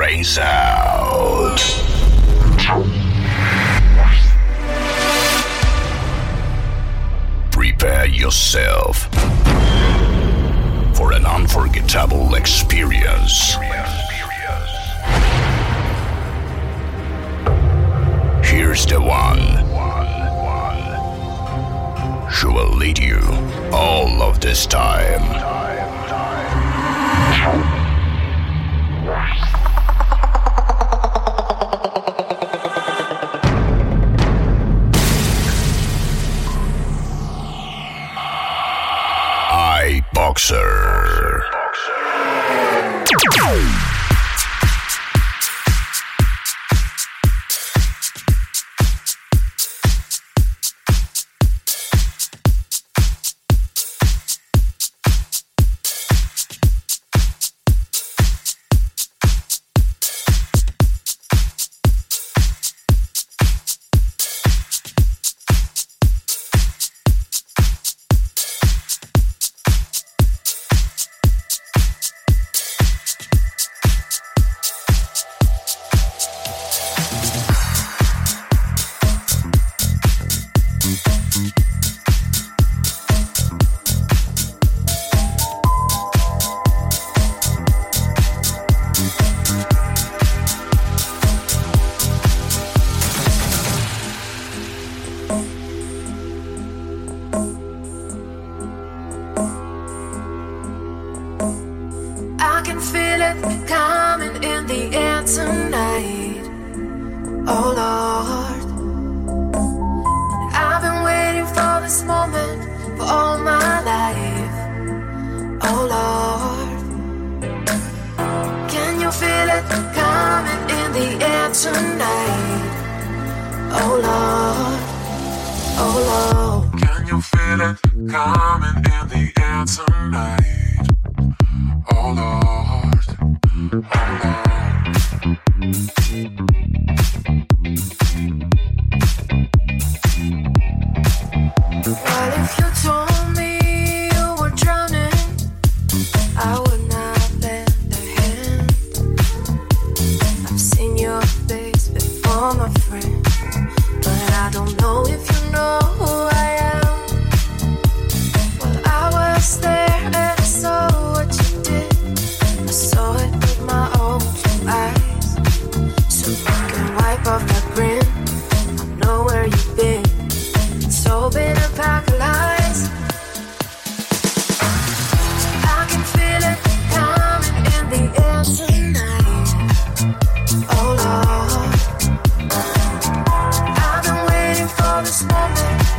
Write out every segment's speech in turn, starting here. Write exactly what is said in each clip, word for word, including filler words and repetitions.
brains out. Prepare yourself for an unforgettable experience. Here's the one. She will lead you all of this time. iBoxer. This moment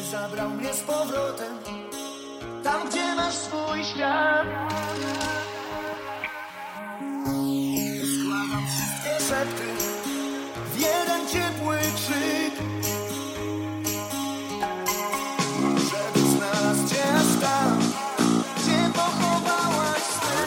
zabrał mnie z powrotem tam, gdzie masz swój świat. Składam wszystkie szepty w jeden ciepły krzyk, żeby znalazł cię aż tam, gdzie pochowałaś sny.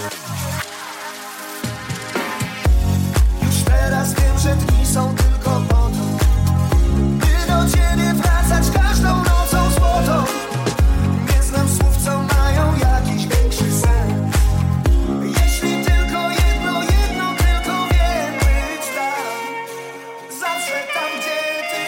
Już teraz wiem, że dni są tylko po to, by do ciebie wracać każdą nocą złotą. Nie znam słów, co mają jakiś większy sens. Jeśli tylko jedno, jedno tylko wiem, być tam, zawsze tam, gdzie ty.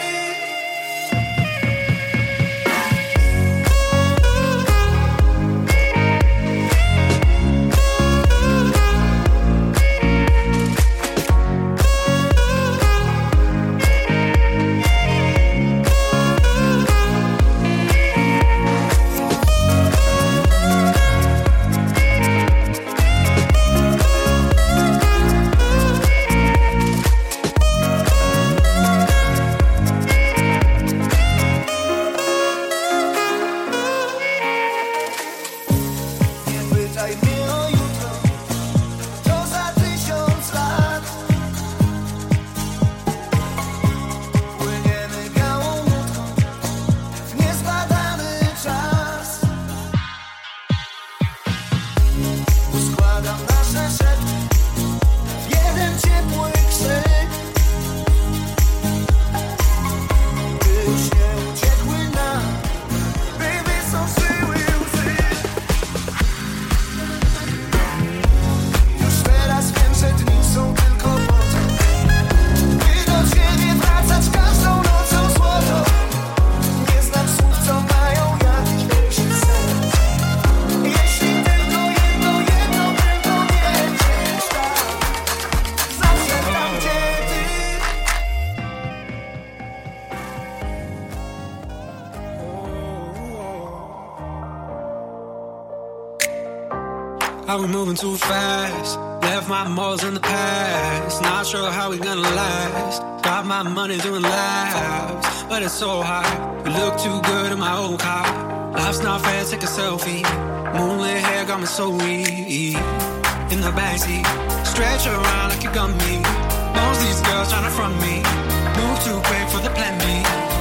Are we moving too fast? Left my morals in the past. Not sure how we gonna last. Got my money doing laps, but it's so hot. You look too good in my old car. Life's not fair, take a selfie. Moonlit hair got me so weak. In the backseat, stretch around like you got me. Most these girls tryna front me. Move too quick for the plan B.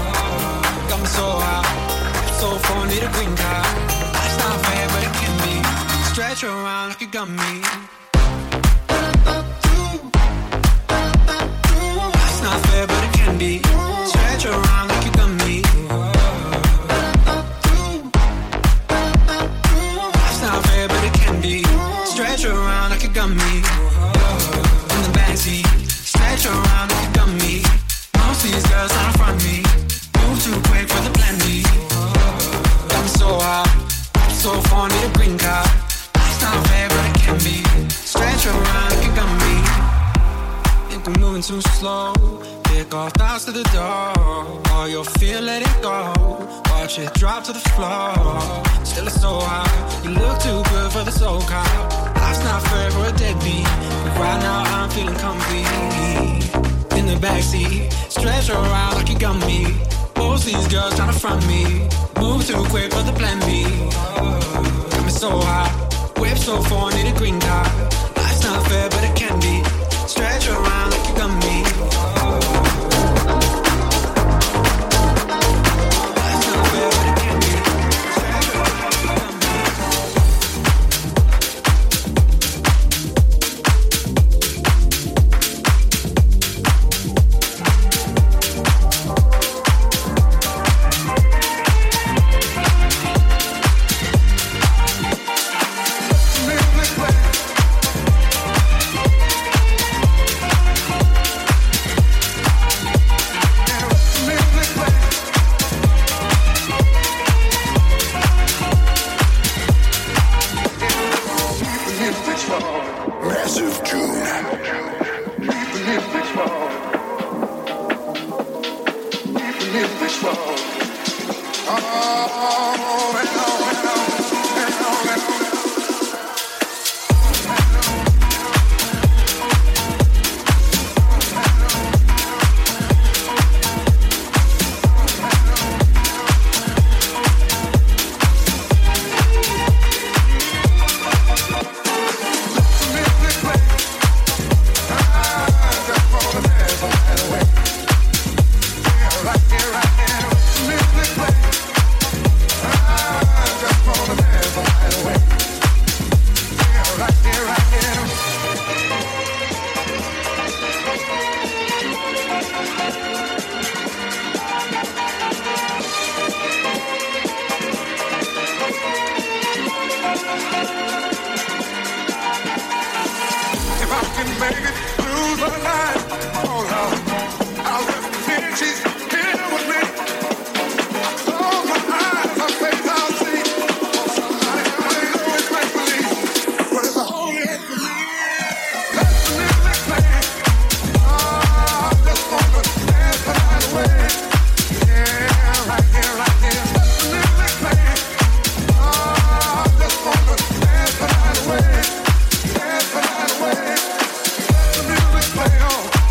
Got me so hot, so far need a green card. Life's not fair, but it can be. Stretch around like you got me. It's not fair, but it can be. Stretch around like you got me. It's not fair, but it can be. Stretch around like you got me. In the backseat, stretch around like you got me. Most of these girls trying to front me. Move too quick for the plan B. Got me so hot, so far need a green card. Not fair, but it can be. Stretch around like you got me. Think we're moving too slow. Pick off thoughts to the door. All your fear, let it go. Watch it drop to the floor. Still it's so hot. You look too good for the soul cop. Life's not fair for a deadbeat, but right now I'm feeling comfy. In the backseat, stretch around like you got me. Most these girls tryna front me. Move too quick for the plan B. Got me so hot. Whip so far, need a green card. Life's not fair, but it can be. Stretch around like you got me. Life's not fair, but it can be. Stretch around like you got me. Play on.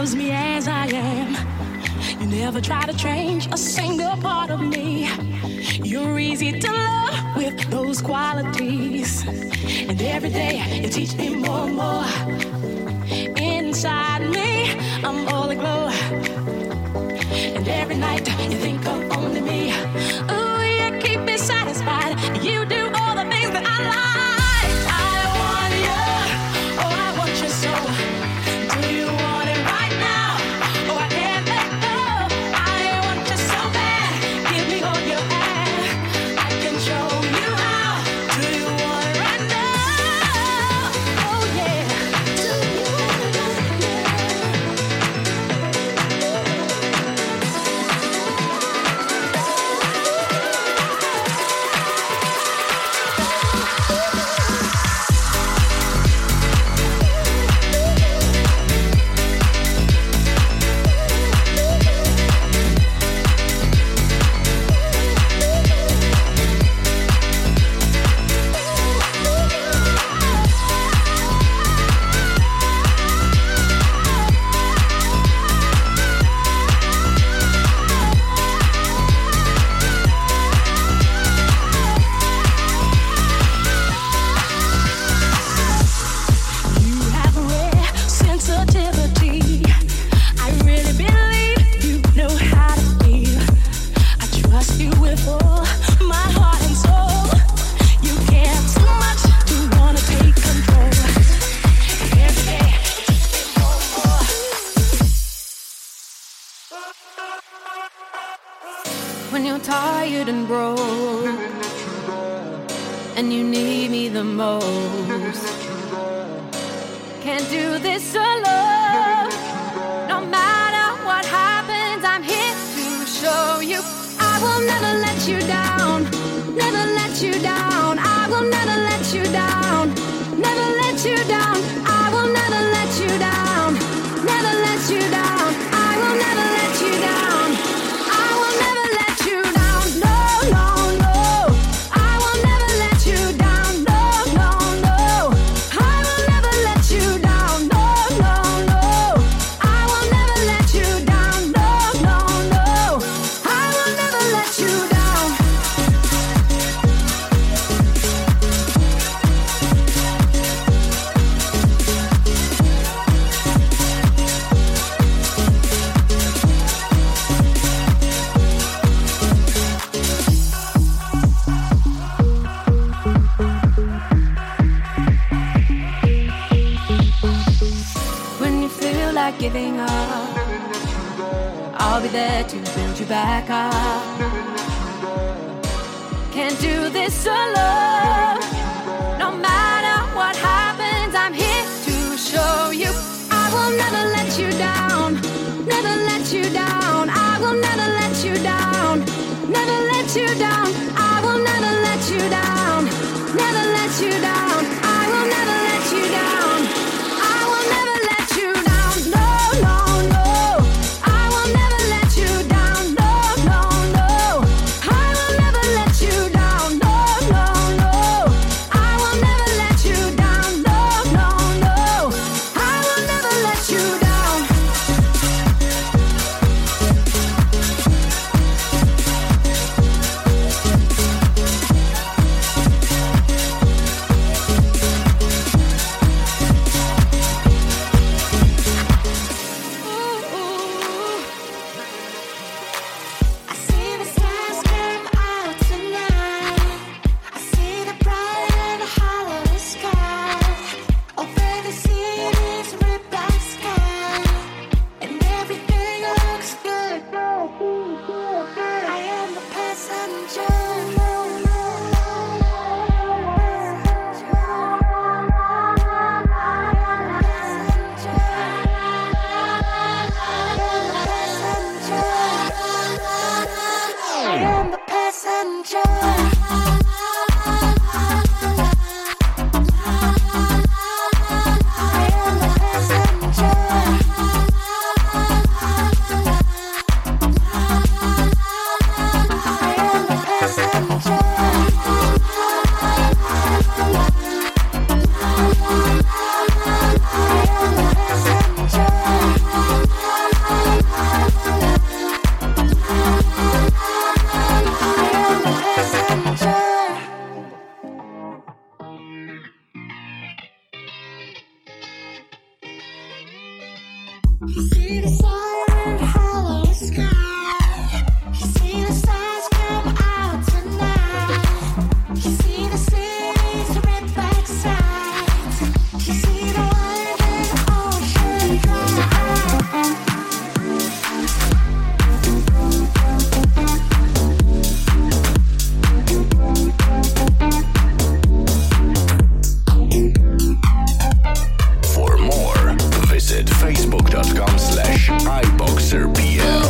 loves me as I am. You never try to change a single part of me. You're easy to love with those qualities. And every day you teach me more and more. Inside me, I'm all aglow. And every night you think of only me. Ooh, you keep me satisfied. You do all the things that I like. I want you, oh, I want you so. Do you want it right now? Oh, I can't let go. I want you so bad. Give me all you have. I can show you how. Do you want it right now? Oh, yeah. Do you want it right now? When you're tired and broke and you need me the most, can't do this alone. No matter what happens, I'm here to show you I will never let you down, never let you down. I will never let you down, never let you down. I will never let you down, never let you down. I will never let you down. I will never let you down. No, no, no. I will never let you down. No, no, no. I will never let you down. No, no, no. I will never let you down. No, no, no. I will never let you down. When you feel like giving up, I'll be there to build you back up. Can't do this alone. No matter what happens, I'm here to show you I will never let you down, never let you down. I will never let you down, never let you down. I will never let you down, never let you down. I will never let you down. I will never let you down. No, no, no. I will never let you down. No, no, no. I will never let you down. No, no, no. I will never let you down. No, no, no. I will never let you down. slash iBoxerPL.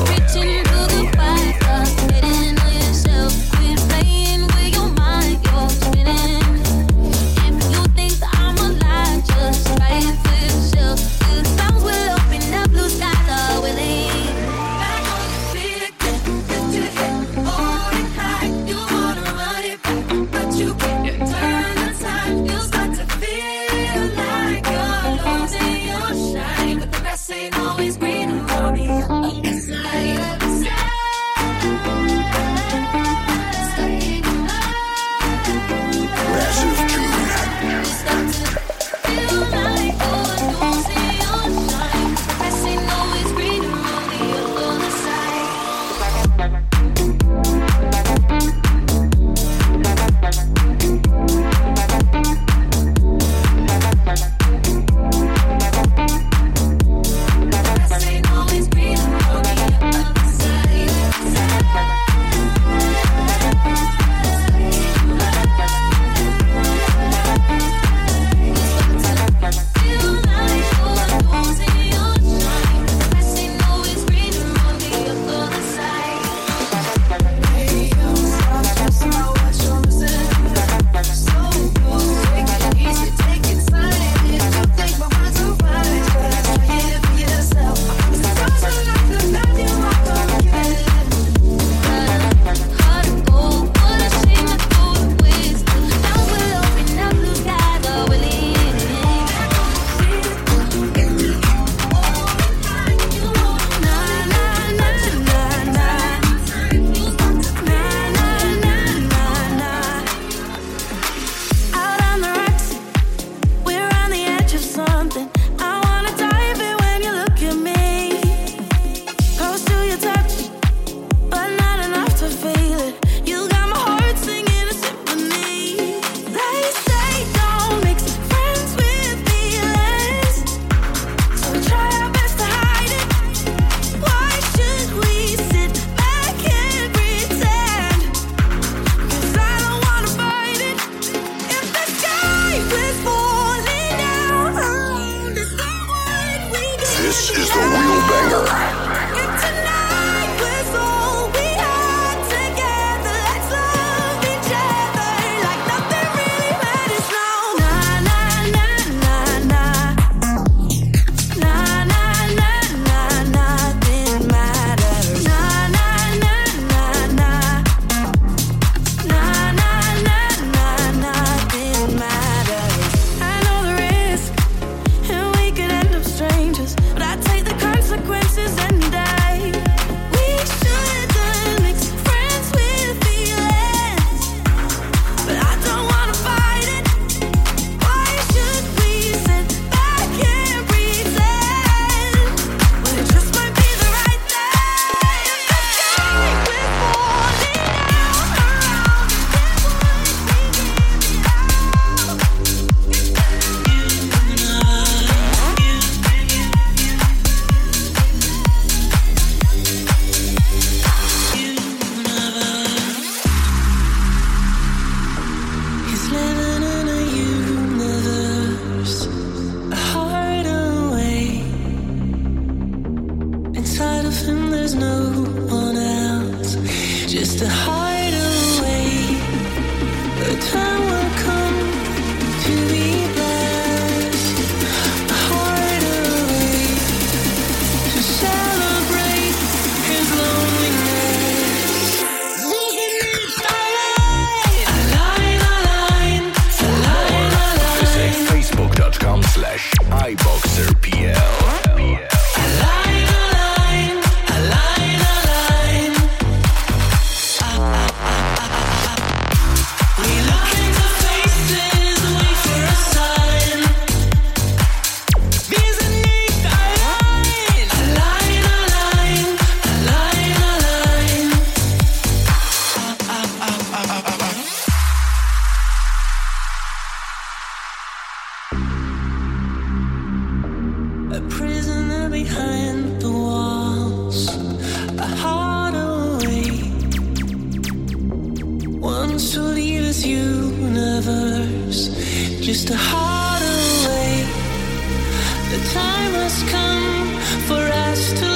just a heart away. The time has come for us to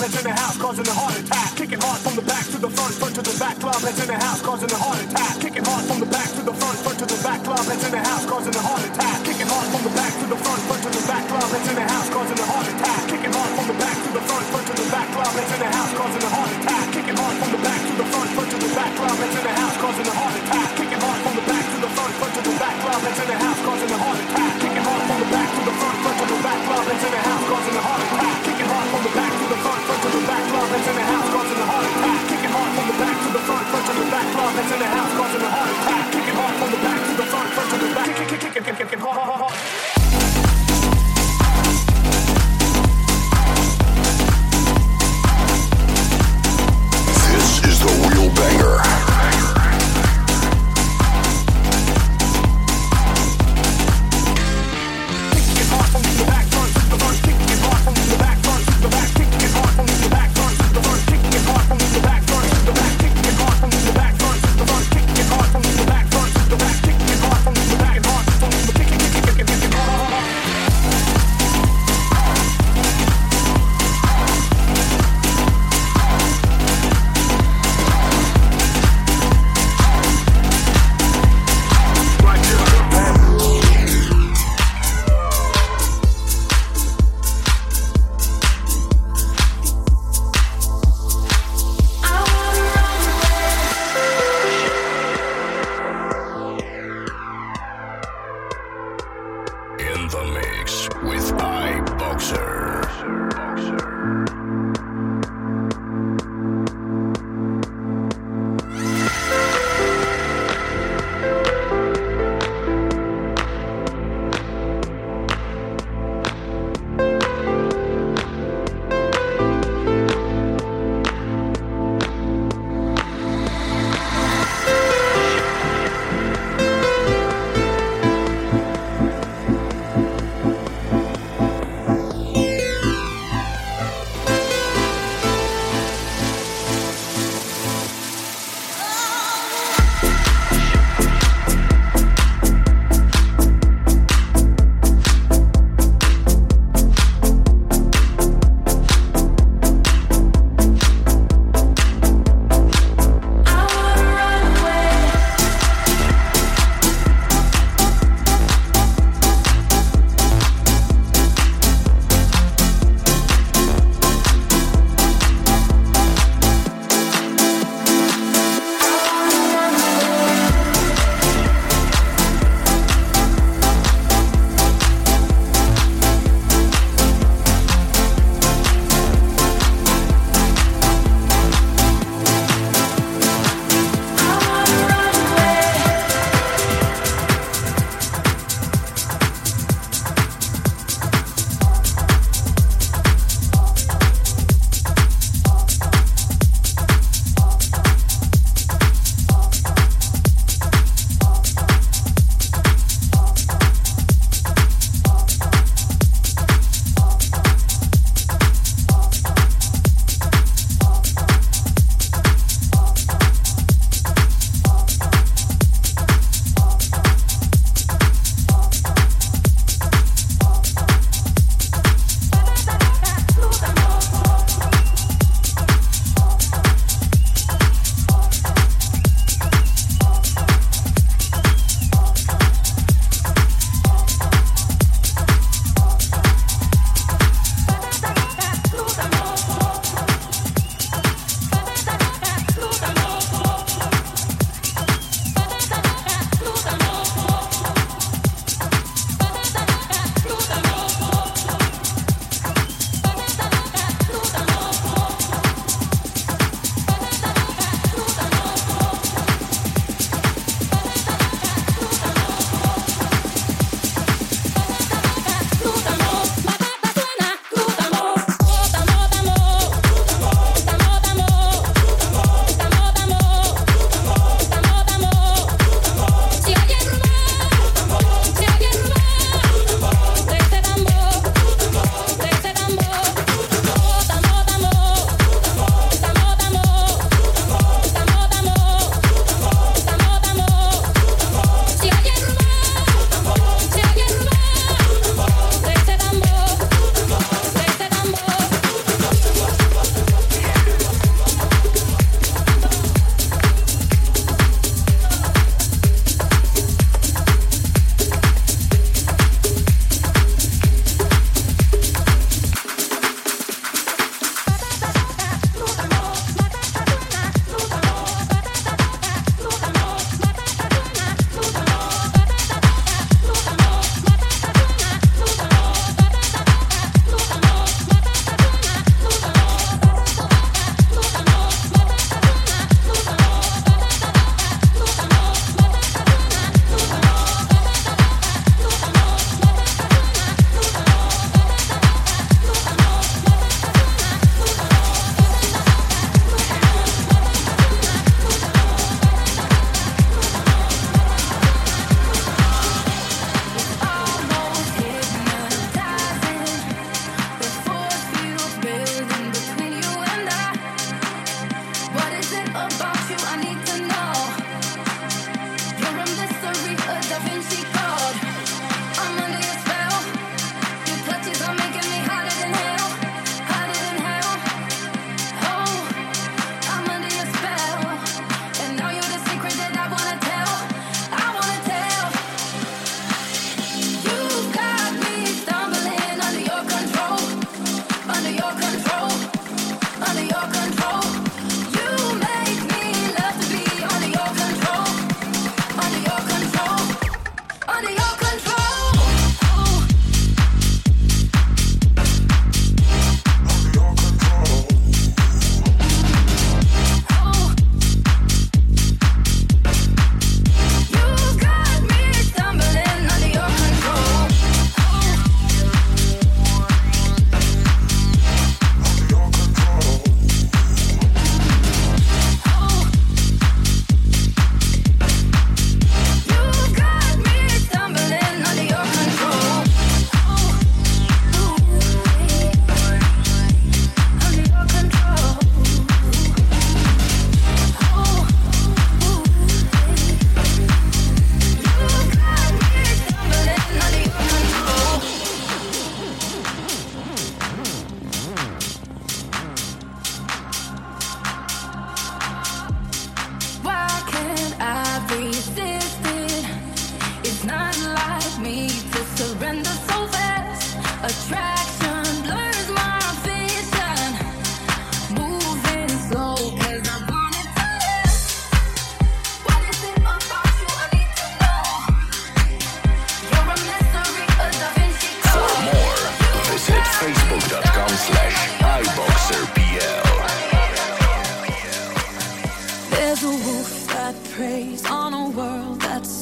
that's in the house causing a heart attack. Kicking hard from the back to the front, front to the back. Club that's in the house causing a heart attack. Kicking hard from the back to the front, front to the back. Club that's in the house causing a heart attack. Kicking hard from the back to the front, front to the back. Club that's in the house causing a heart attack. Kicking hard from the back to the front, front to the back. Club that's in the house causing a heart attack. Kicking hard from the back to the front, front to the back. Club that's in the house causing a heart attack. Kicking hard from the back to the front, front to the back. Club that's in the house causing a heart attack. Kicking hard from the back to the front, front to the back. Club that's in the house causing a heart attack. Kicking hard from the back to the front, front to the back. Club that's in the house causing a heart attack. Kicking hard from the back to the front, front to the back. Club that's in the house causing a heart attack. Kicking hard from the back to the front, front to the back. Kick, kick, kick, kick, kick.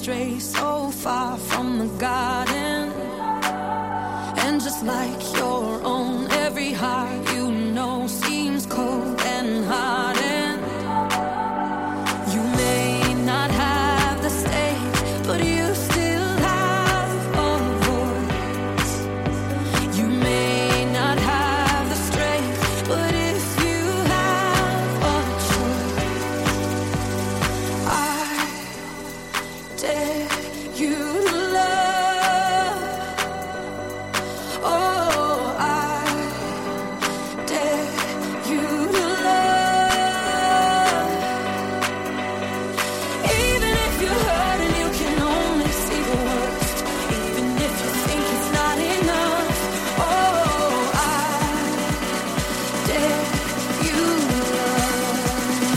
stray so far from the garden. And just like your own, every heart you know seems cold and hardened. You may not have the stage, but you still have a voice. You may not have the strength, but if you have a choice, I dare you to love. Oh, I dare you to love. Even if you're hurt and you can only see the worst, even if you think it's not enough, oh, I dare you to love.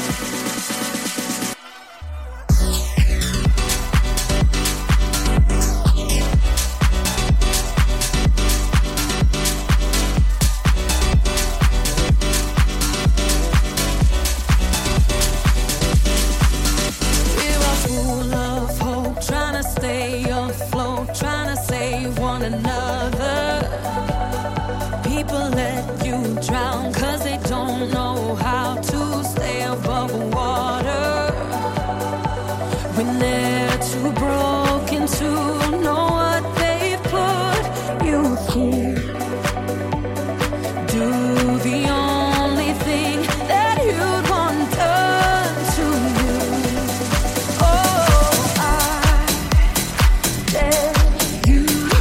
We're all full of hope, trying to stay afloat, trying to save one another. People let you drown cause they don't know how to stay above water. When they're too broken to know what they've put you through. Do the only thing that you'd want done to you. Oh, I dare you to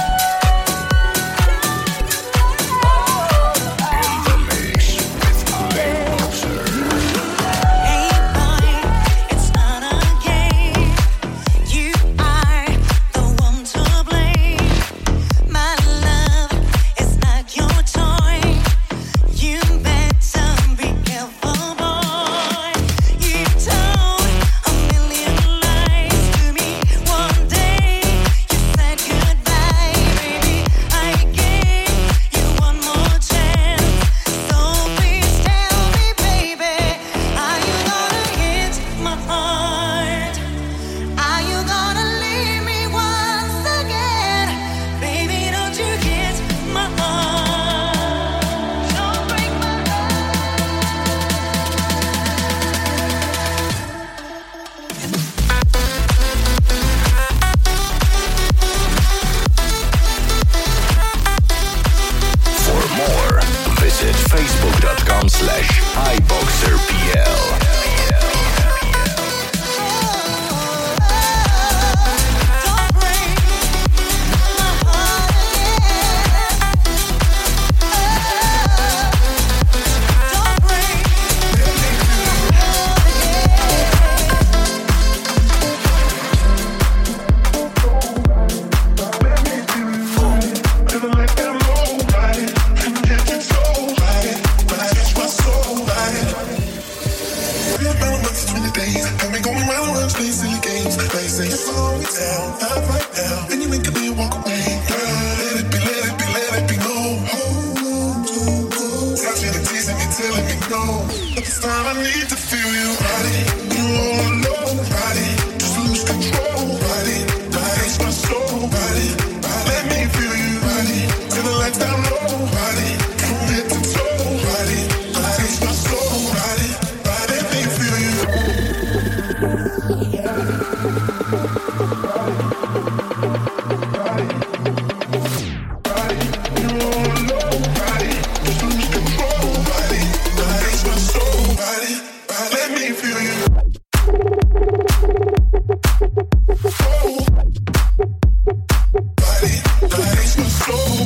In the mix with iBoxer. Hey boy, it's not a game. You are the one to blame. My love is not your toy. You better be careful, boy. You told a million lies to me. One day you said goodbye, baby. I gave you one more chance. So please tell me, baby, are you gonna hit my heart? Are you gonna leave me once again? Baby, don't you hit my heart. Don't break my For more, visit facebook.com slash iBoxerPL. Don't break my heart again. Don't break Never let them know about it. Can't control about it, but I catch my soul about it. We're about months, twenty days. Got me going round, round, playing silly games. They say slow it down, not right now. Then you wink at me and walk away. Girl, let it be, let it be, let it be known. Hold on, don't go. Touching and teasing me, telling me no. But this time I need to feel you, body. You all alone, body. Just lose control, body. Body, my soul, body. Let me feel you, body. Till the lights down low, body. From head to toe, body. Body, my soul, body. Body, let me feel you. Body, you all alone, body. Just lose control, body. Body, my soul, body. Body, let me feel you. Oh. Body, body, my soul.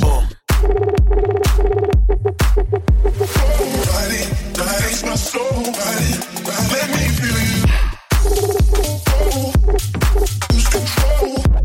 Oh, body, body, my soul, body, body, let me feel you. Oh, lose control.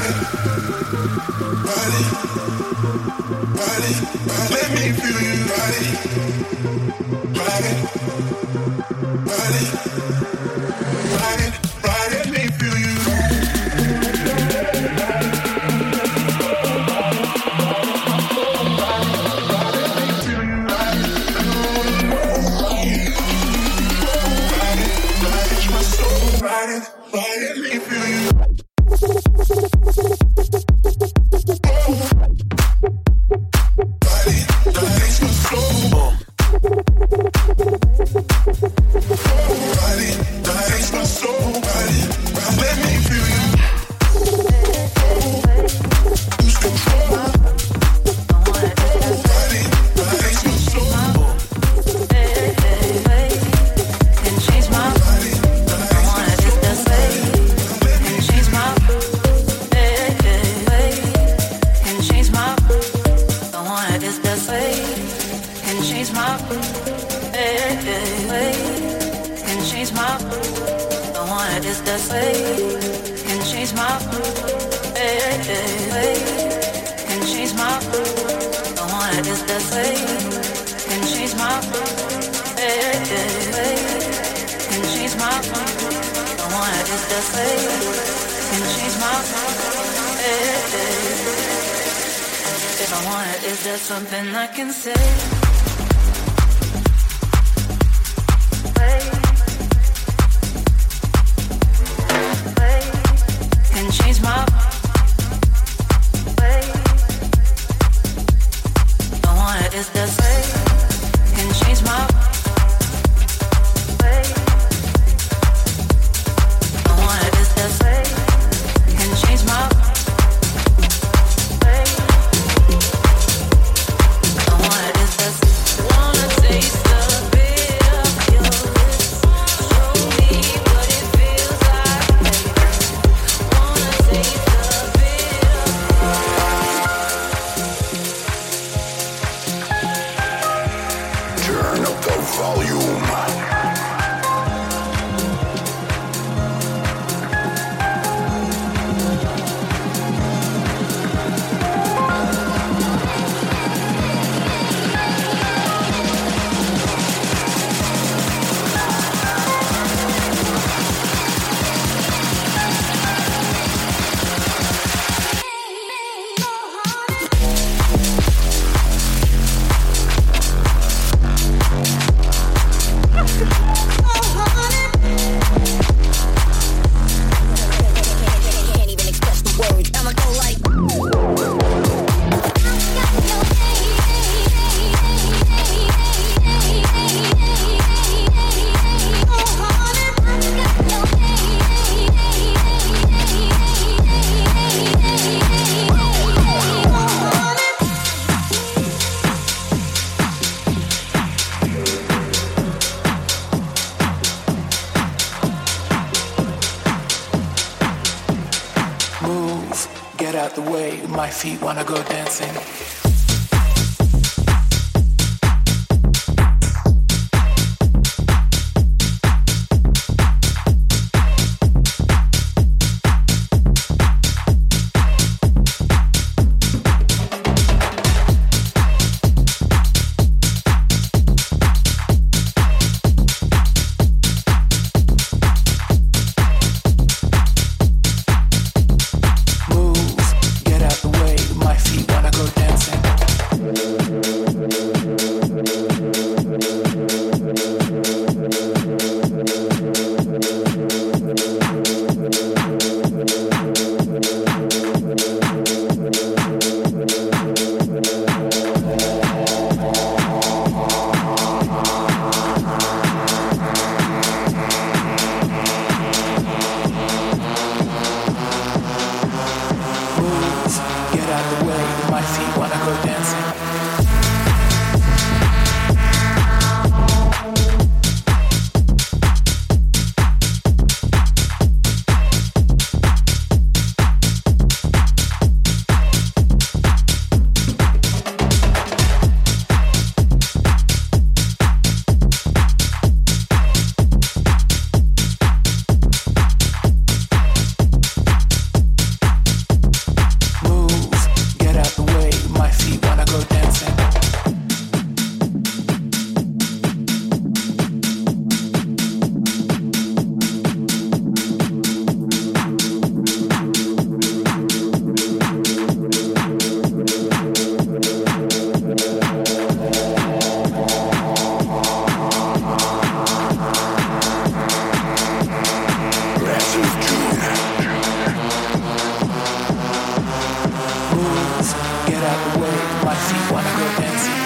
My feet wanna go dancing. feet wanna go dancing.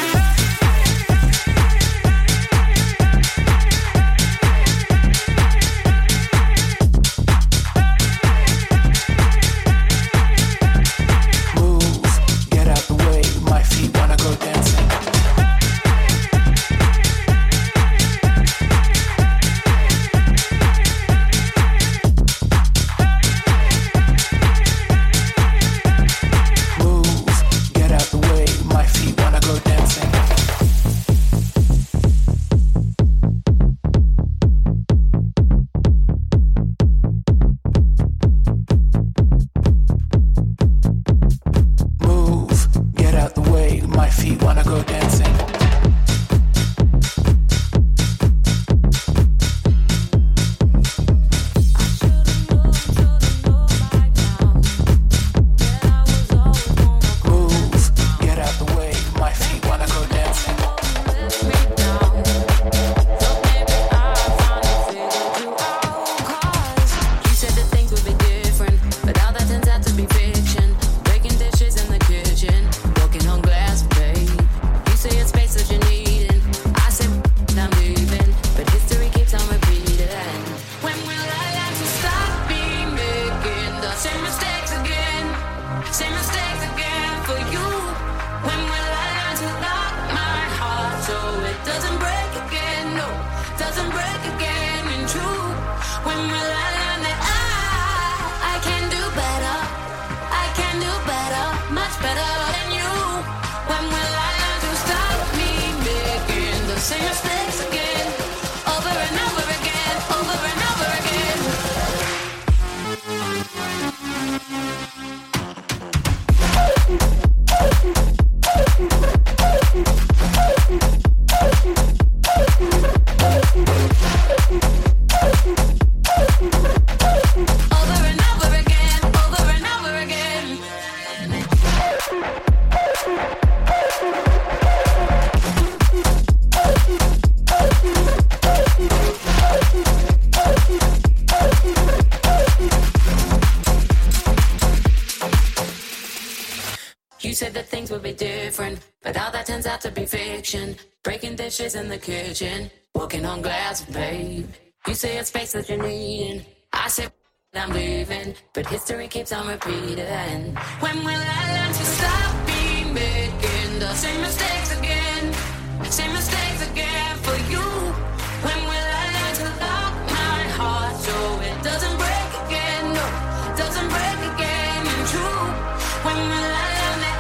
Breaking dishes in the kitchen, walking on glass, babe. You say it's space that you're needing. I say I'm leaving, but history keeps on repeating. When will I learn to stop being making the same mistakes again? Same mistakes again for you. When will I learn to lock my heart so it doesn't break again? No, doesn't break again. And true. When will I learn that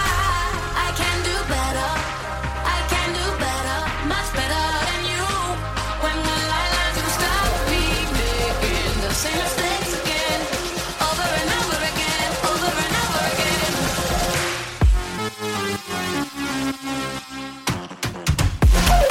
I I can do better? Much better than you. When will I learn to stop me making the same mistakes again? Over and over again, over and over again.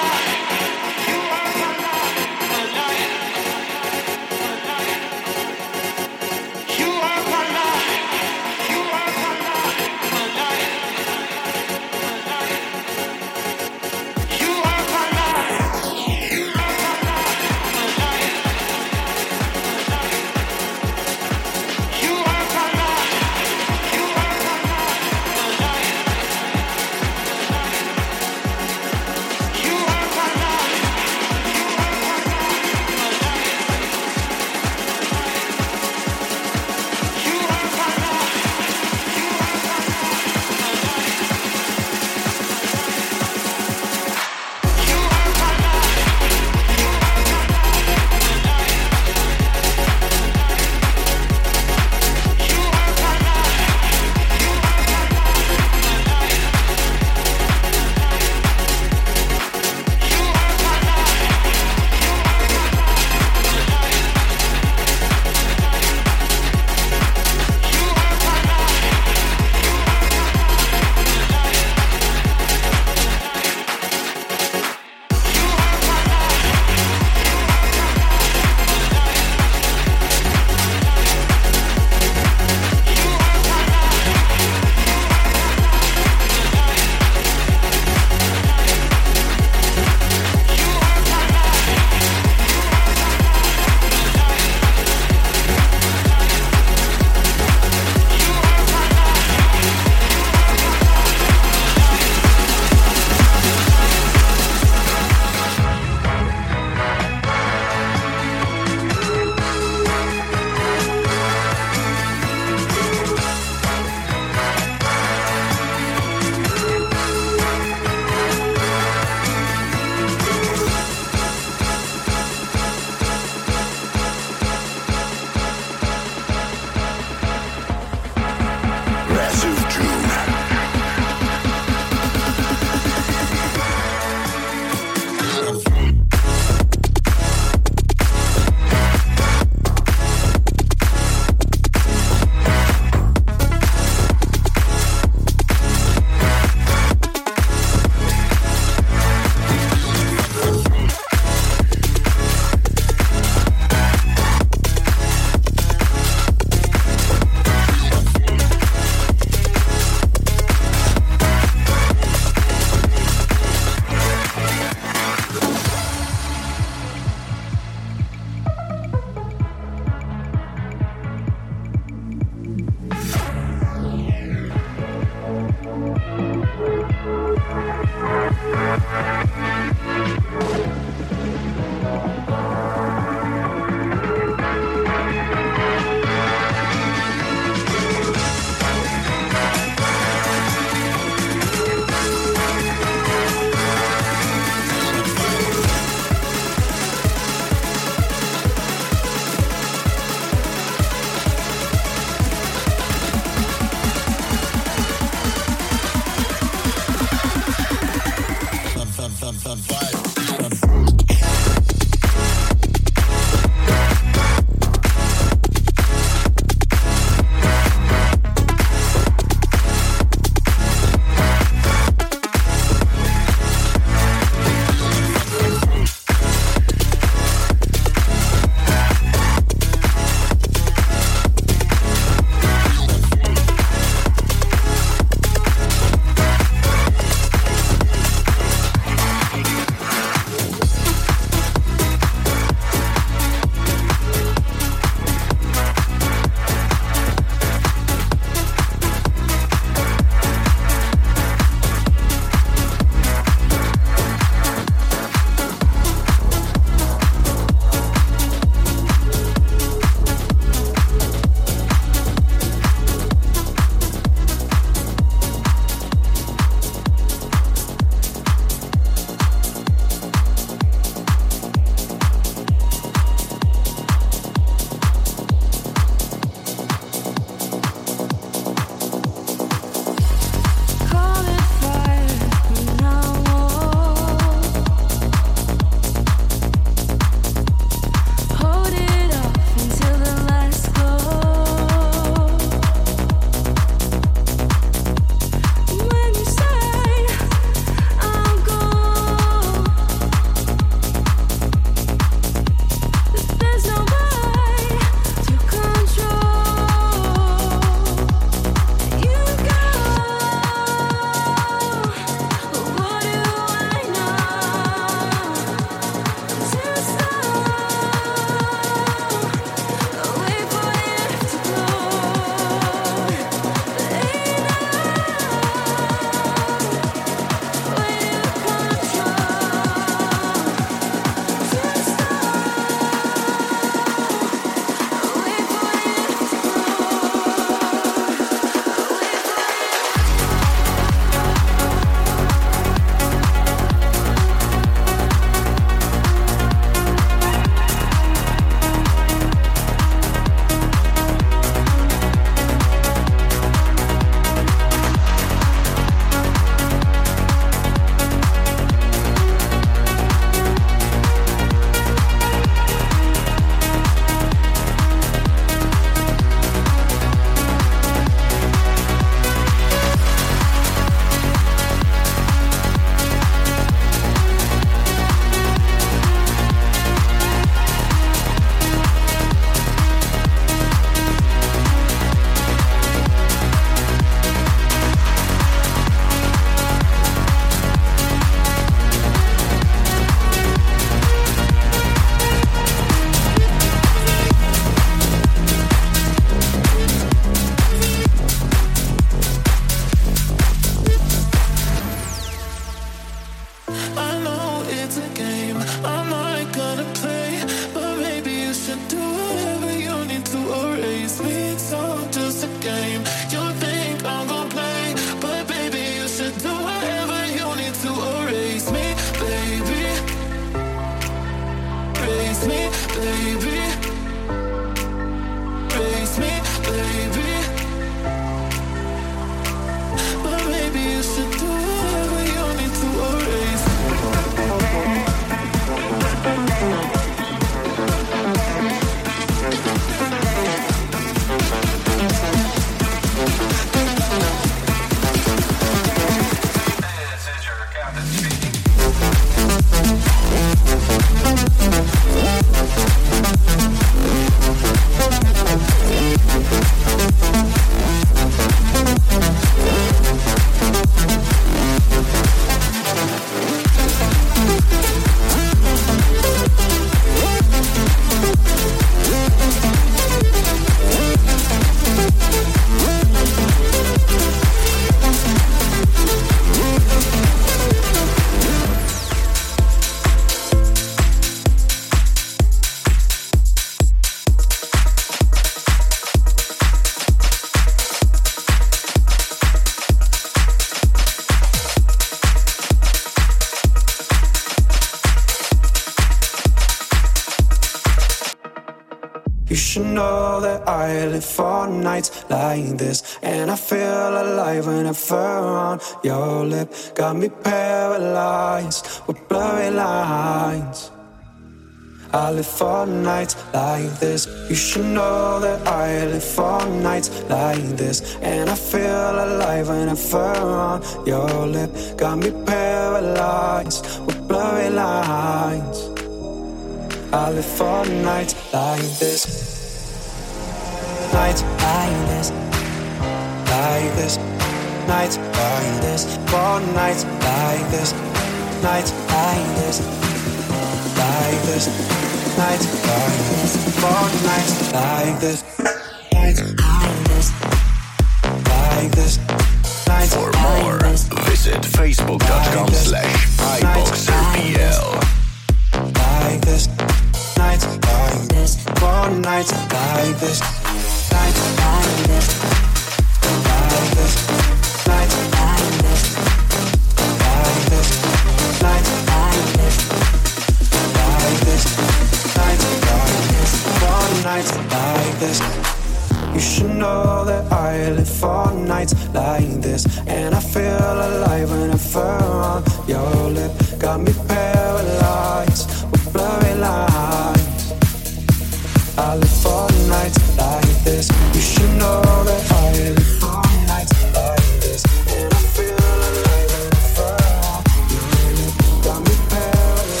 should know that I live for nights like this, and I feel alive whenever on your lip. Got me paralyzed with blurry lines. I live for nights like this. You should know that I live for nights like this, and I feel alive whenever on your lip. Got me paralyzed with blurry lines. I live for nights like this. Nights like this. Like this. Nights like this. For nights like this. Nights like this. Like this. Nights like this. For nights like this. Nights like this. Like this. Nights For like more, this. visit facebook.com slash iboxerpl. Like this. Nights like this. For nights like this. Nights like this. Like this. Nights like this. Like this. Nights like this. Like this. Nights like this. For nights like this. You should know that I live for nights like this, and I feel alive whenever on your lip. Got me paralyzed with blurry lines. I live for nights like this. You should know that I live for nights like this, and I feel alive whenever on your lip. Got me paralyzed.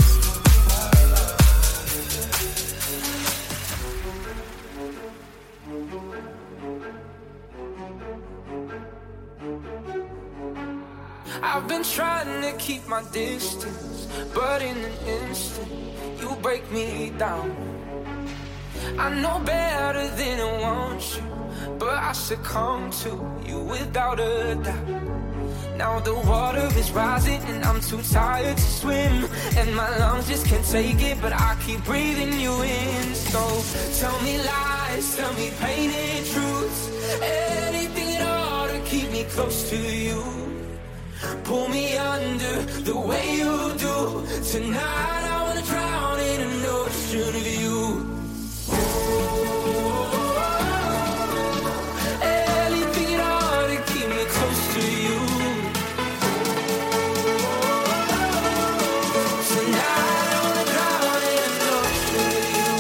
I've been trying to keep my distance, but in an instant, you break me down. I know better than I want you, but I succumb to you without a doubt. Now the water is rising and I'm too tired to swim, and my lungs just can't take it, but I keep breathing you in. So tell me lies, tell me painted truths, anything at all to keep me close to you. Pull me under the way you do. Tonight I wanna drown in an ocean of you. Anything at all to keep me close to you. Tonight I wanna drown in an ocean of you.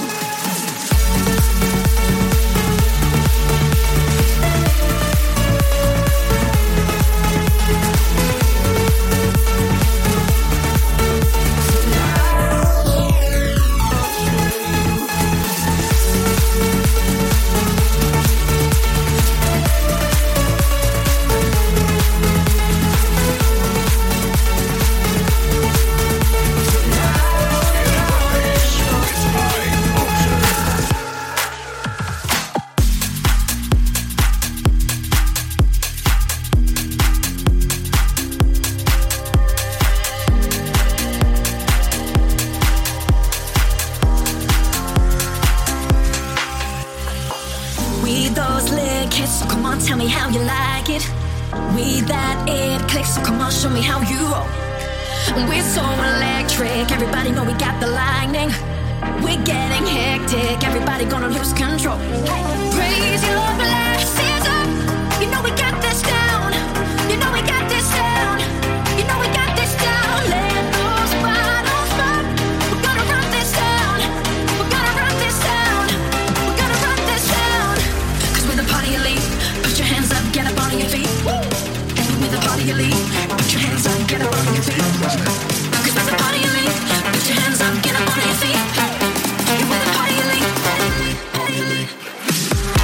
Tell me how you like it. We that it clicks, so come on, show me how you roll. We're so electric, everybody know we got the lightning. We're getting hectic, everybody gonna lose control. Raise your glasses up, you know we got this down. You know we got this down. You know we got this down. Let those bottles pop. We're gonna run this down. We're gonna run this down. We're gonna run this down. Cause we're the party elite. Put your hands up, get up on your feet. With the party elite, put your hands up, get up on your feet. Cause with the party elite, put your hands up, get up on your feet. With the party elite, party elite, party elite.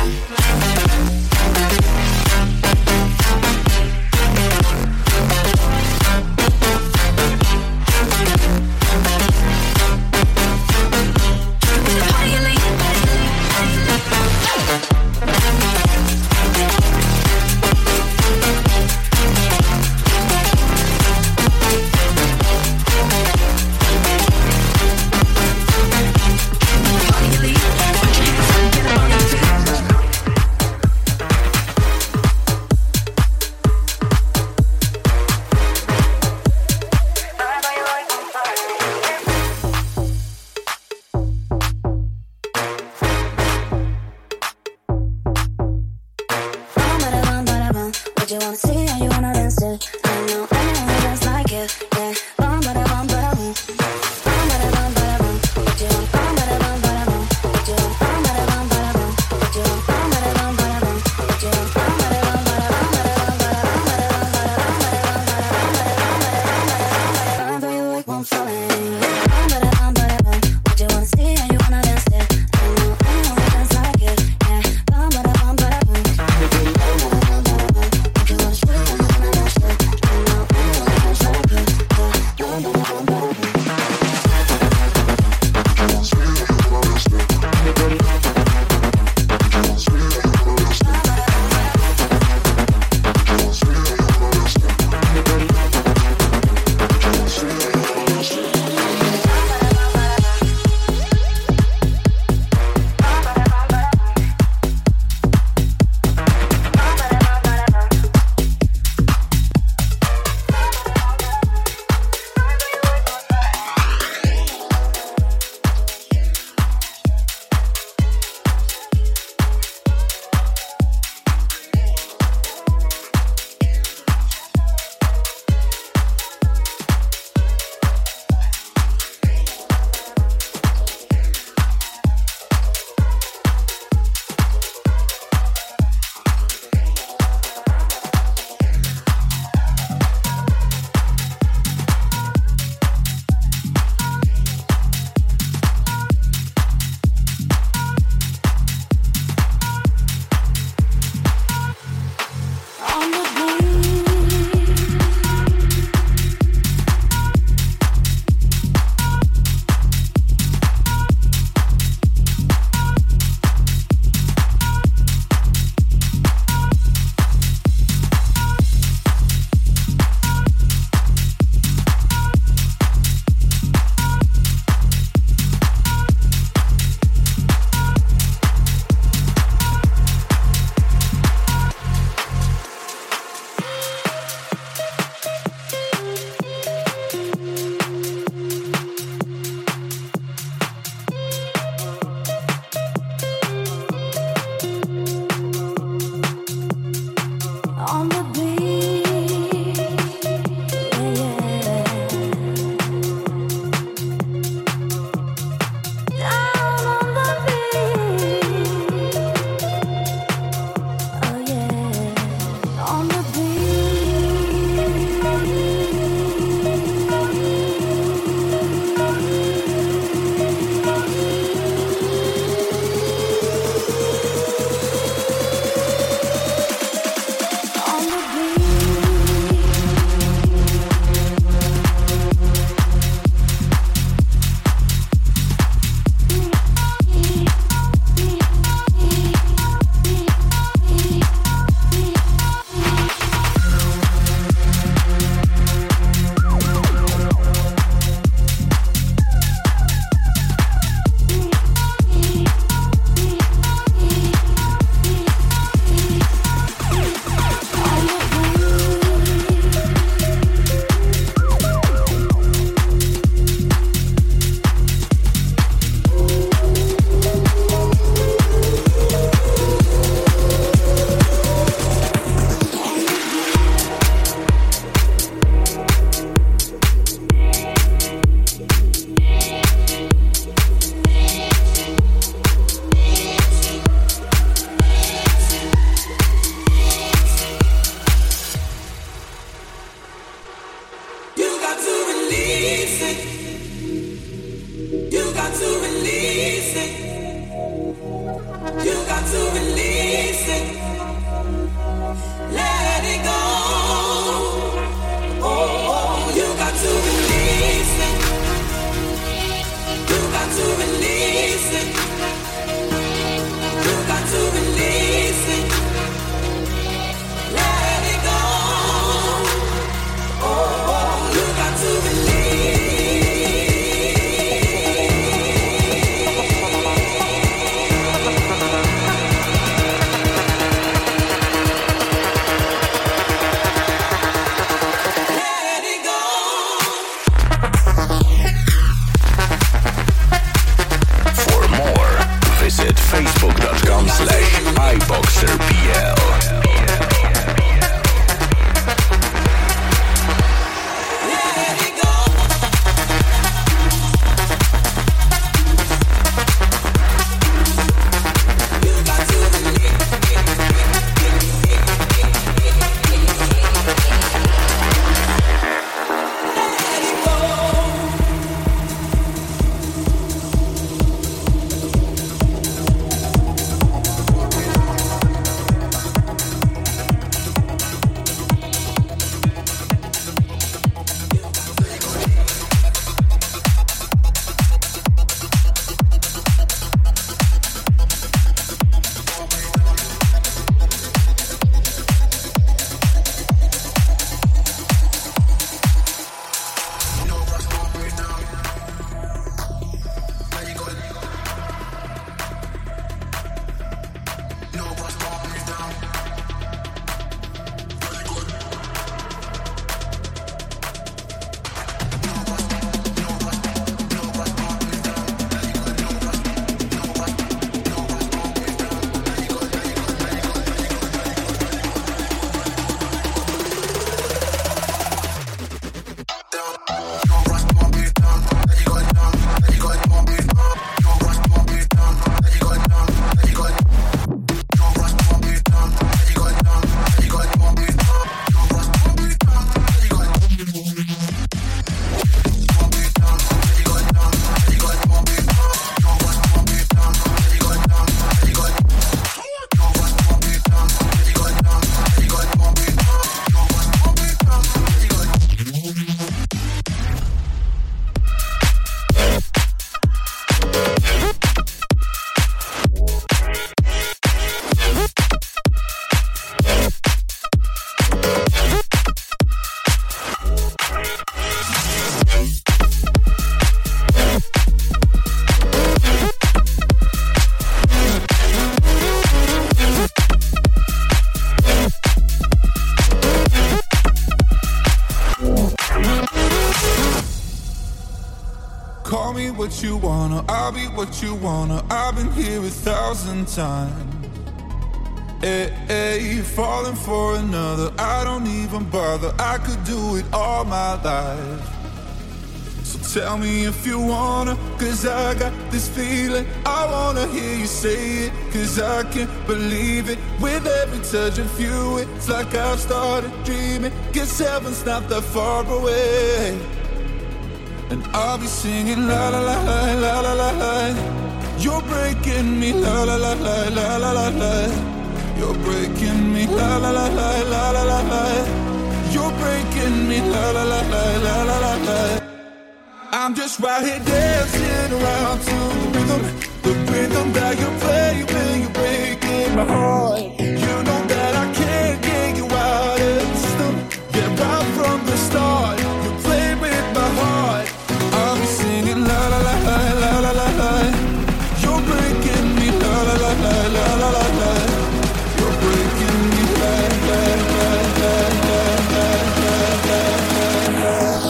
wanna, I'll be what you wanna. I've been here a thousand times. Hey, hey, falling for another, I don't even bother. I could do it all my life. So tell me if you wanna, cause I got this feeling. I wanna hear you say it, cause I can't believe it. With every touch of you, it's like I've started dreaming. Guess heaven's not that far away. And I'll be singing la la la la la la la la. You're breaking me la la la la la la la la. You're breaking me la la la la la la la la. You're breaking me la la la la la la la la. I'm just right here dancing around to the rhythm, the rhythm that you play when you're breaking my heart. You know that I can't get you out of the system. Yeah, right from the start, you play with my heart. I'll be singing la la la la la la la la. You're breaking me la la la la la la la la. You're breaking me la la la la la la la la.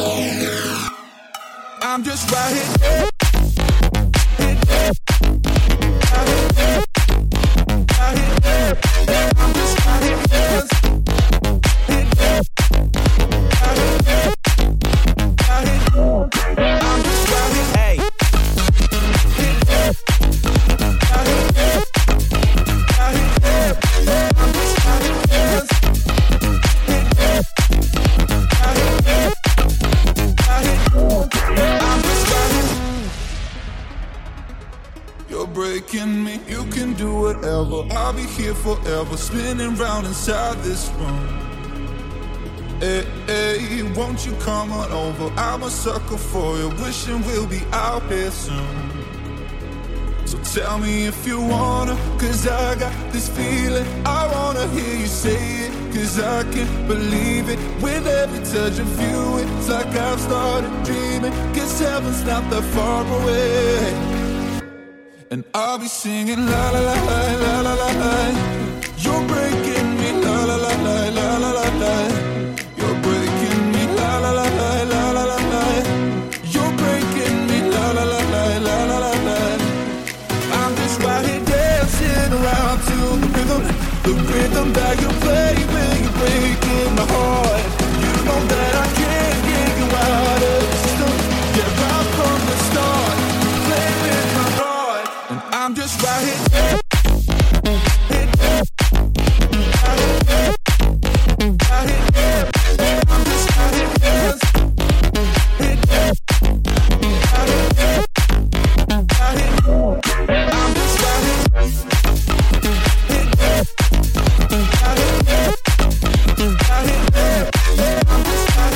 I'm just right here. I'm just right here. Hey. You're breaking me, you can do whatever. I'll be here forever, spinning round inside this room. Hey, hey, won't you come on over? I'm a sucker for you, wishing we'll be out here soon. So tell me if you wanna, cause I got this feeling. I wanna hear you say it, cause I can't believe it. With every touch of you, it's like I've started dreaming. Guess heaven's not that far away. And I'll be singing la la la la la la la la. You're breaking me la la la la la la la la. You're breaking me la la la la la la la la. You're breaking me la la la la la la la la. I'm just right here dancing around to the rhythm, the rhythm that you play when you're breaking my heart. You know that I can't get you out of the system. Yeah, right from the start, you play with my heart. And I'm just right here. I'm just right here. I'm just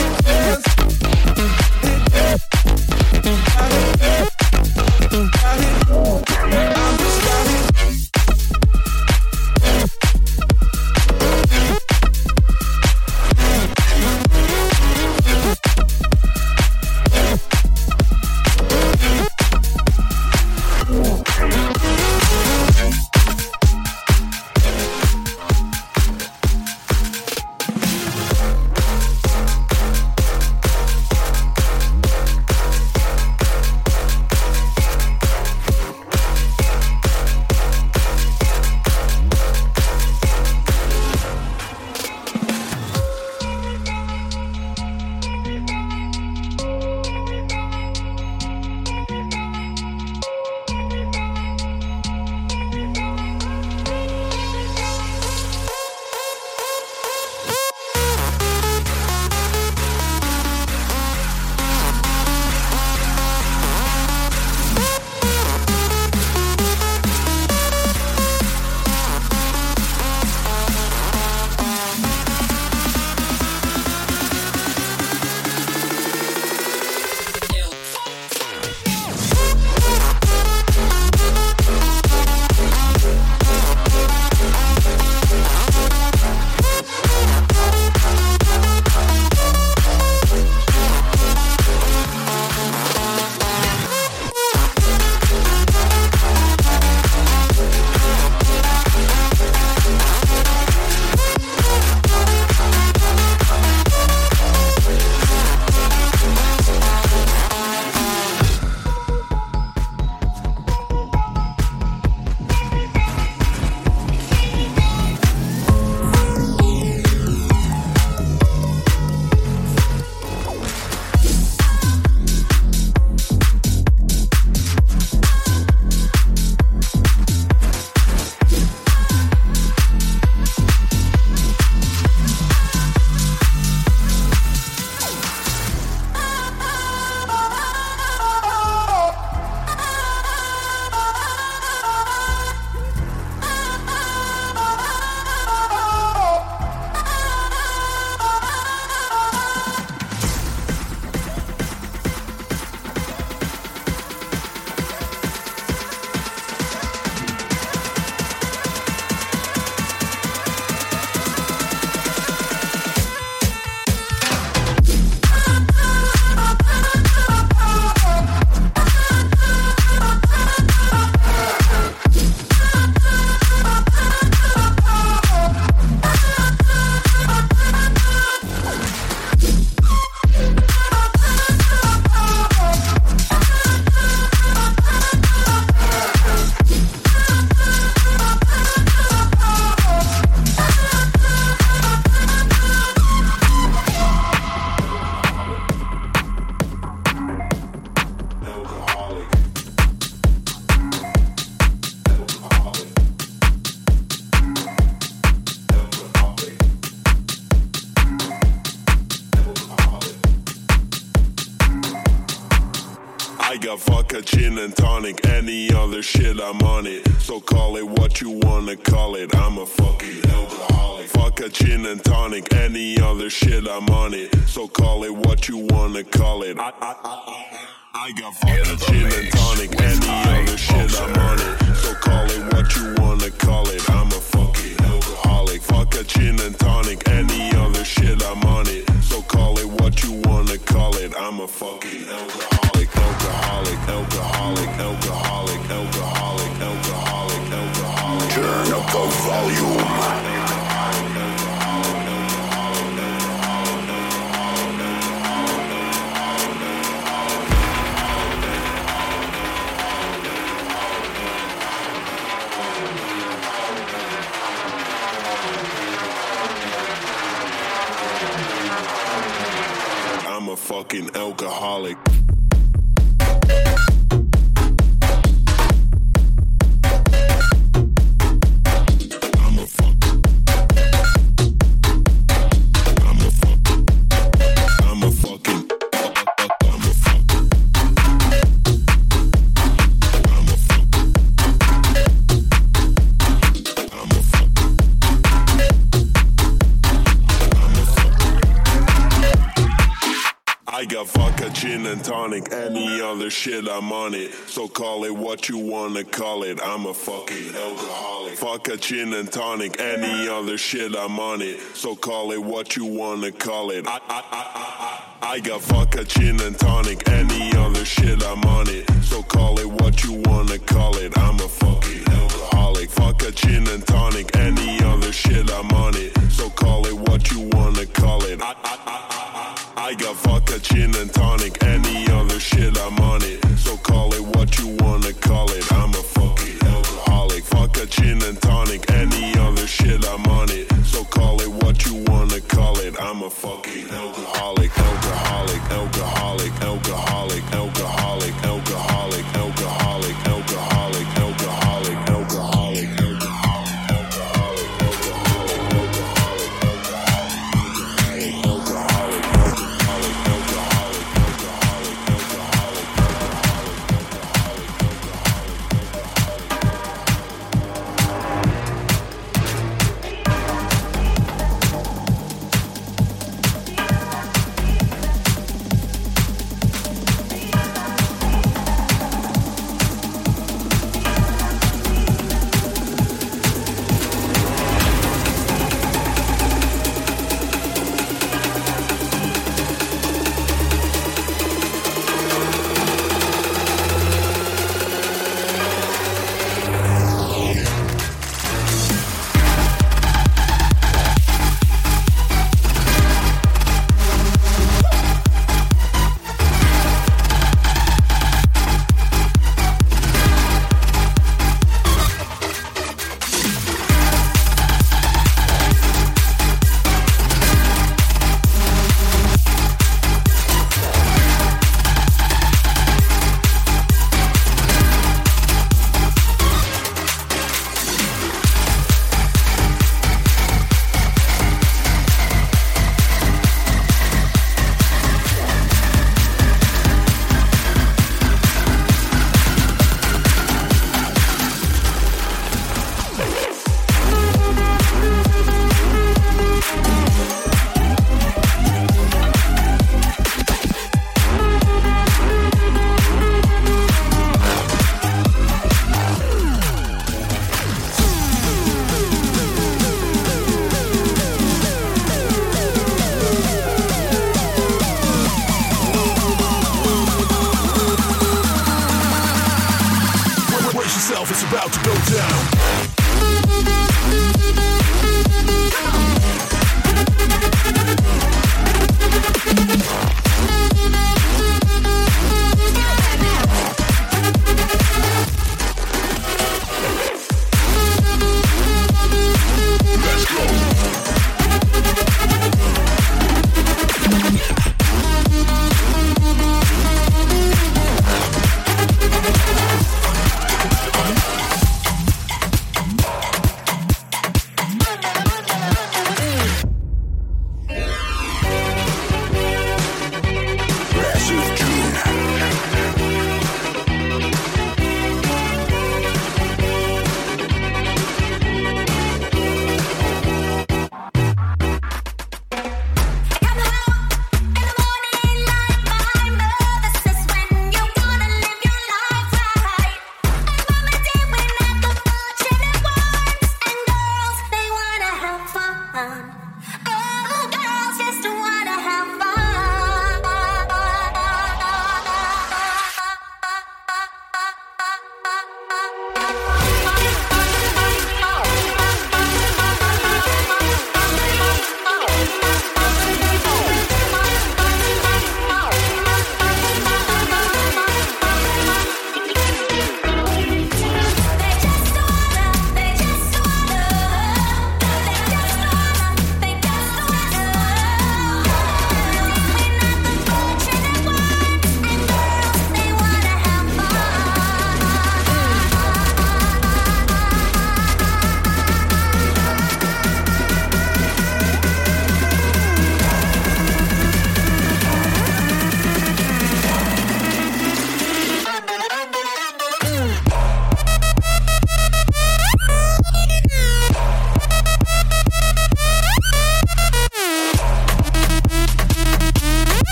got vodka, gin and tonic, any other shit I'm on it. So call it what you wanna call it, I'm a fucking alcoholic. Vodka, gin and tonic, any other shit I'm on it. So call it what you wanna call it. I, I, I, I got vodka, gin and tonic, any other shit I'm on it. So call it what you wanna call it, I'm a fucking alcoholic. Vodka, gin and tonic, any other shit I'm on it. So call it what you wanna call it, I'm a fucking alcoholic, alcoholic, alcoholic, alcoholic, alcoholic, alcoholic, alcoholic. Turn up the volume. I'm a fucking alcoholic. I got vodka, gin and tonic, any other shit I'm on it. So call it what you wanna call it, I'm a fucking alcoholic. Vodka, gin and tonic, any other shit I'm on it. So call it what you wanna call it. I, I, I, I, I got vodka, gin and tonic, any other shit I'm on it. So call it what you wanna call it, I'm a fucking alcoholic. Vodka, gin and tonic, any other shit I'm on it. So call it what you wanna call it. I, I, I, I got vodka, gin and tonic, any other shit I'm on it. So call it what you wanna call it, I'm a fucking alcoholic. Vodka, gin and tonic, any other shit I'm on it. So call it what you wanna call it, I'm a fucking alcoholic, alcoholic, alcoholic, alcoholic, alcoholic, alcoholic, alcoholic, alcoholic, alcoholic, alcoholic, alcoholic.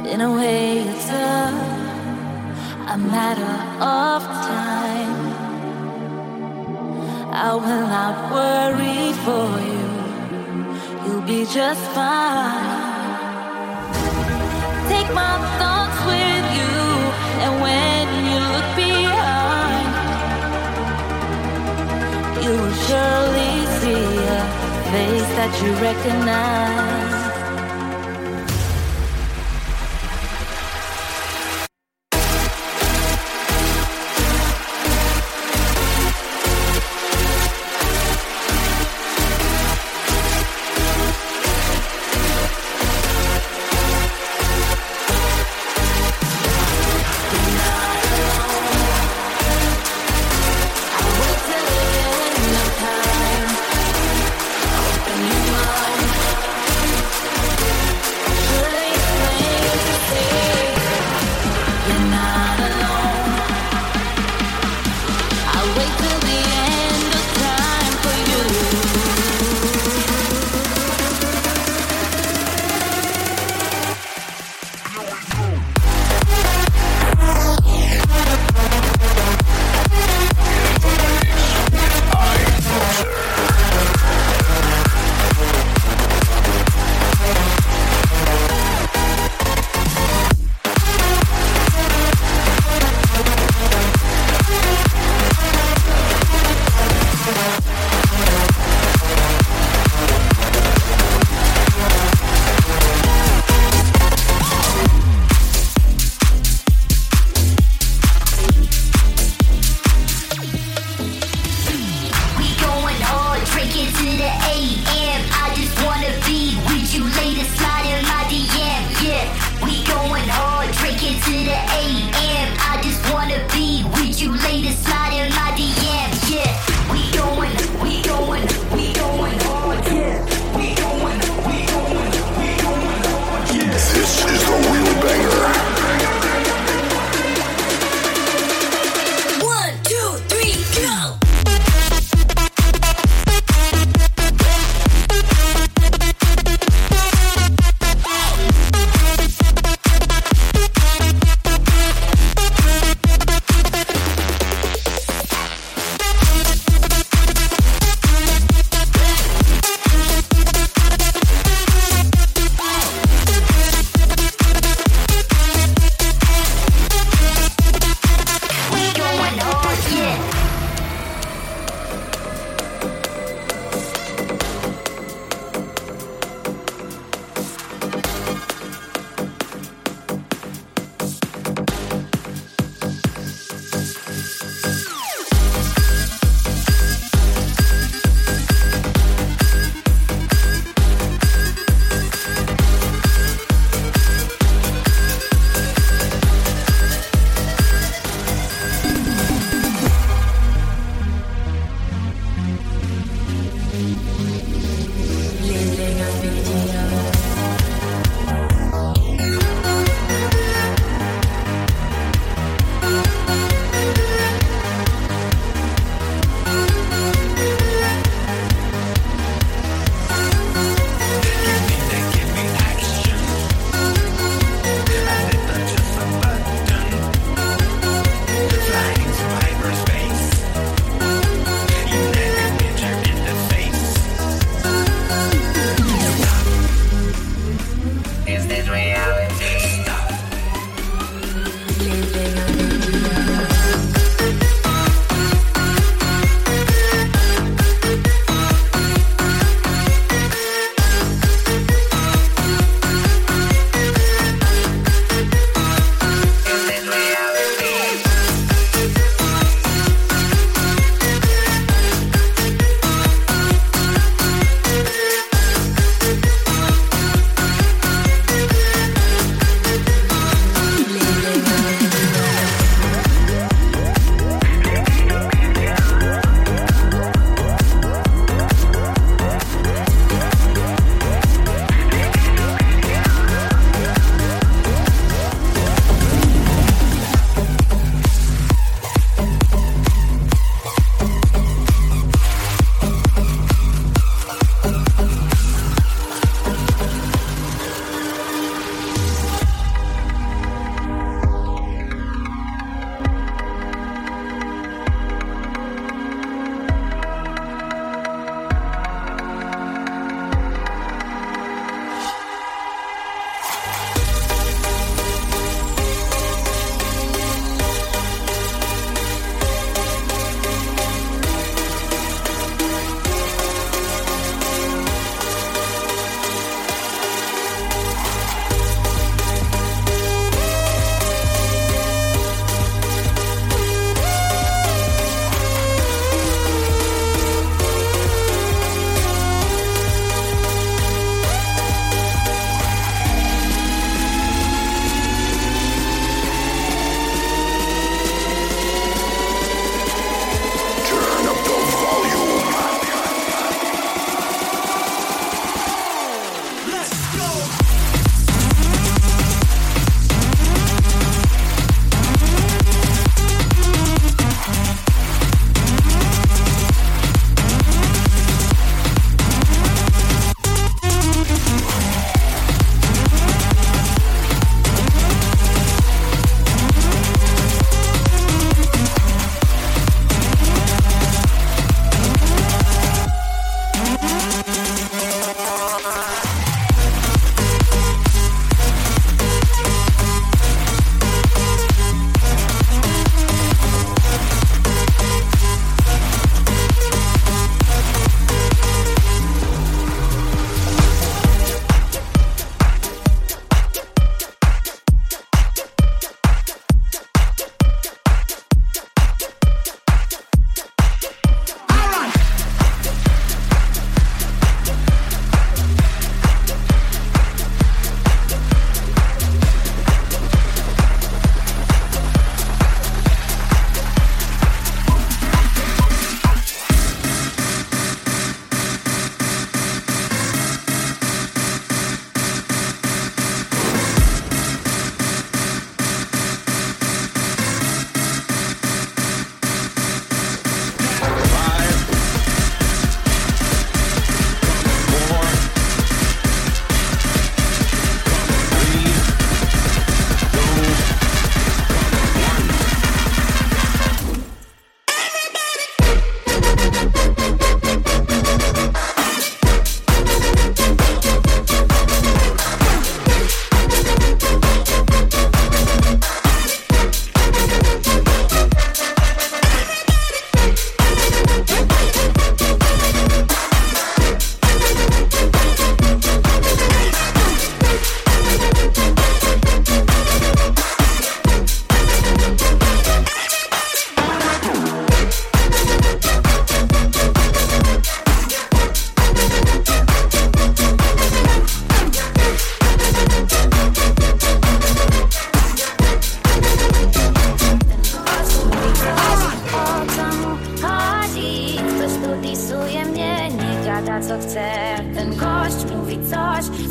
In a way, it's a, a matter of time. I will not worry for you. You'll be just fine. Take my thoughts with you, and when you look behind, you will surely see a face that you recognize. Time. Open your mind.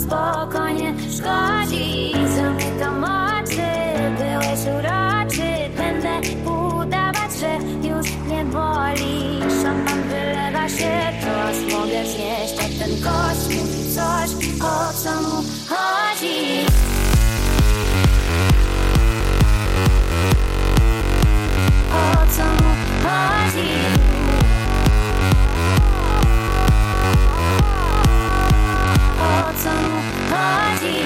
spokojnie szkodzi. Zamykam oczy, byłeś uroczy. Będę udawać, że już nie boli. Szampan wylewa się, to mogę znieść. Jak ten gość mówi coś, o co mu chodzi. O co mu chodzi? O co mu chodzi?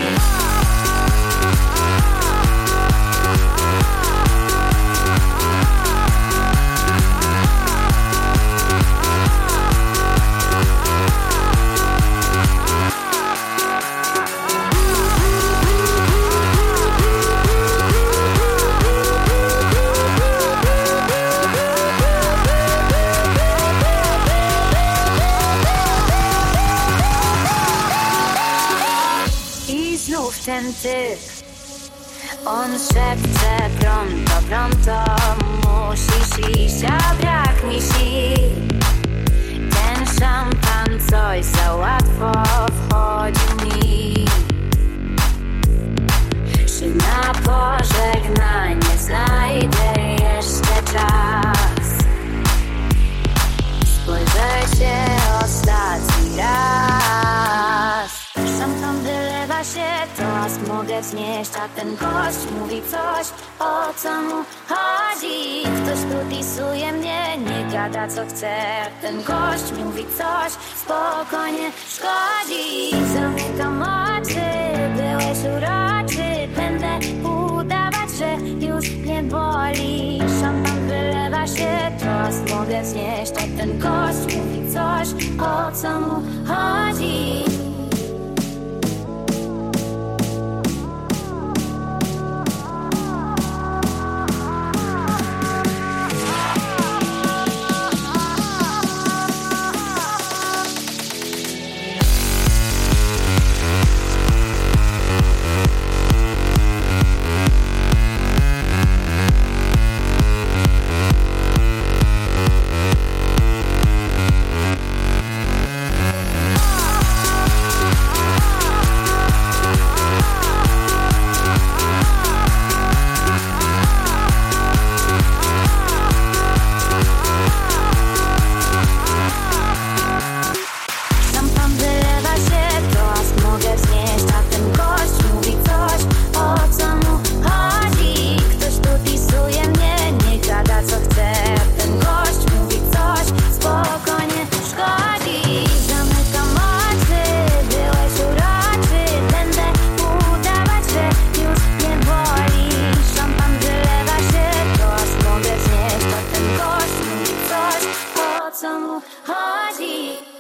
Ten typ, on szepcze pronto, pronto, musisz iść, a brak mi sił. Ten szampan coś za łatwo wchodzi mi. Czy na pożegnanie znajdę jeszcze czas? Spojrzę się ostatni raz. Szampan wylewa się, toast mogę znieść. A ten gość mówi coś, o co mu chodzi. Ktoś tu disuje mnie, nie gada co chce. Ten gość mówi coś, spokojnie szkodzi. Zamykam oczy, byłeś uroczy. Będę udawać, że już nie boli. Szampan wylewa się, toast mogę znieść. A ten gość mówi coś, o co mu chodzi. Co mu chodzi?